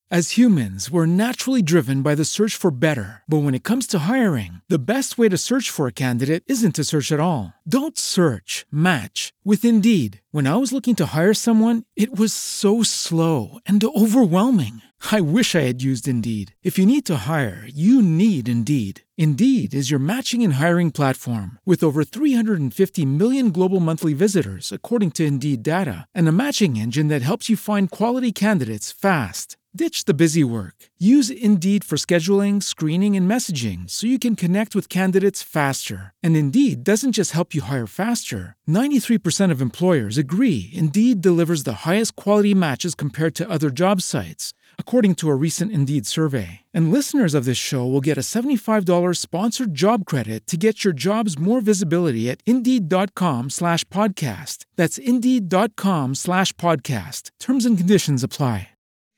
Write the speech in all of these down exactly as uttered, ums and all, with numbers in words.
As humans, we're naturally driven by the search for better. But when it comes to hiring, the best way to search for a candidate isn't to search at all. Don't search, match with Indeed. When I was looking to hire someone, it was so slow and overwhelming. I wish I had used Indeed. If you need to hire, you need Indeed. Indeed is your matching and hiring platform with over three hundred fifty million global monthly visitors, according to Indeed data, and a matching engine that helps you find quality candidates fast. Ditch the busy work. Use Indeed for scheduling, screening, and messaging so you can connect with candidates faster. And Indeed doesn't just help you hire faster. ninety-three percent of employers agree Indeed delivers the highest quality matches compared to other job sites, according to a recent Indeed survey. And listeners of this show will get a seventy-five dollars sponsored job credit to get your jobs more visibility at Indeed.com slash podcast. That's Indeed.com slash podcast. Terms and conditions apply.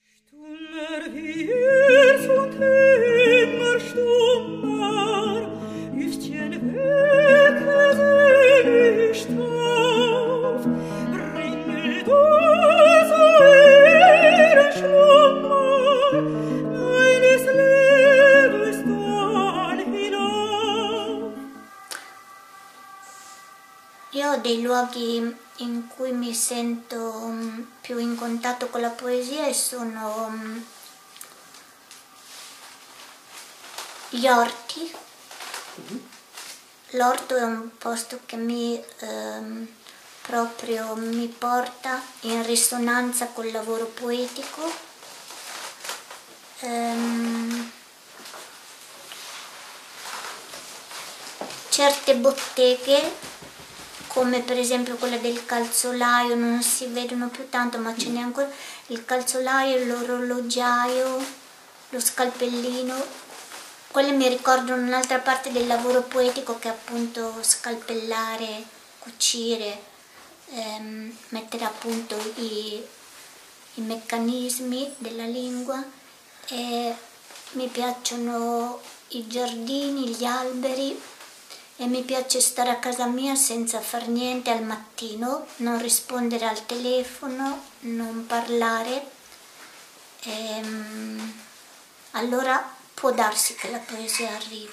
Io dei luoghi in cui mi sento um, più in contatto con la poesia sono um, gli orti. Mm-hmm. L'orto è un posto che mi um, proprio mi porta in risonanza col lavoro poetico. Um, certe botteghe, come per esempio quella del calzolaio, non si vedono più tanto, ma ce n'è ancora, il calzolaio, l'orologiaio, lo scalpellino, quelle mi ricordano un'altra parte del lavoro poetico, che è appunto scalpellare, cucire, ehm, mettere a punto i, i meccanismi della lingua. E mi piacciono i giardini, gli alberi. E mi piace stare a casa mia senza far niente al mattino, non rispondere al telefono, non parlare. E, allora può darsi che la poesia arrivi.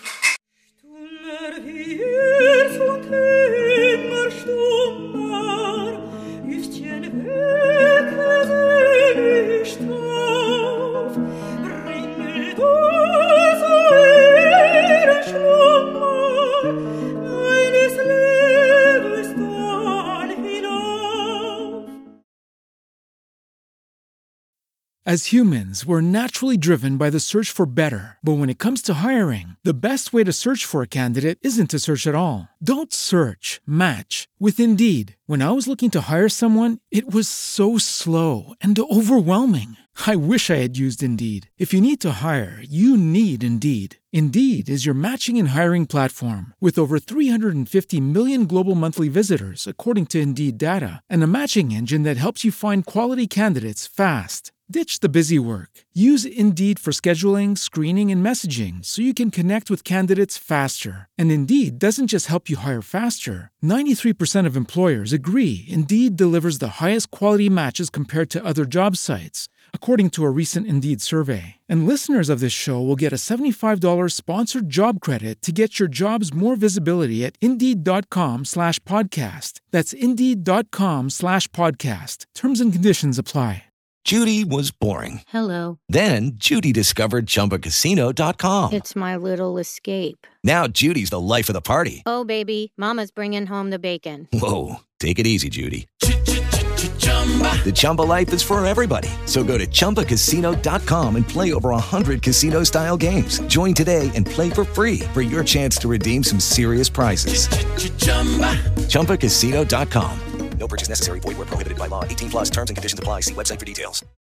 As humans, we're naturally driven by the search for better. But when it comes to hiring, the best way to search for a candidate isn't to search at all. Don't search, match with Indeed. When I was looking to hire someone, it was so slow and overwhelming. I wish I had used Indeed. If you need to hire, you need Indeed. Indeed is your matching and hiring platform with over three hundred fifty million global monthly visitors, according to Indeed data, and a matching engine that helps you find quality candidates fast. Ditch the busy work. Use Indeed for scheduling, screening, and messaging so you can connect with candidates faster. And Indeed doesn't just help you hire faster. ninety-three percent of employers agree Indeed delivers the highest quality matches compared to other job sites, according to a recent Indeed survey. And listeners of this show will get a seventy-five dollars sponsored job credit to get your jobs more visibility at Indeed.com slash podcast. That's Indeed.com slash podcast. Terms and conditions apply. Judy was boring. Hello. Then Judy discovered Chumba Casino dot com. It's my little escape. Now Judy's the life of the party. Oh, baby, mama's bringing home the bacon. Whoa, take it easy, Judy. The Chumba life is for everybody. So go to Chumba Casino dot com and play over one hundred casino-style games. Join today and play for free for your chance to redeem some serious prizes. Chumba Casino dot com. No purchase necessary. Void where prohibited by law. eighteen plus terms and conditions apply. See website for details.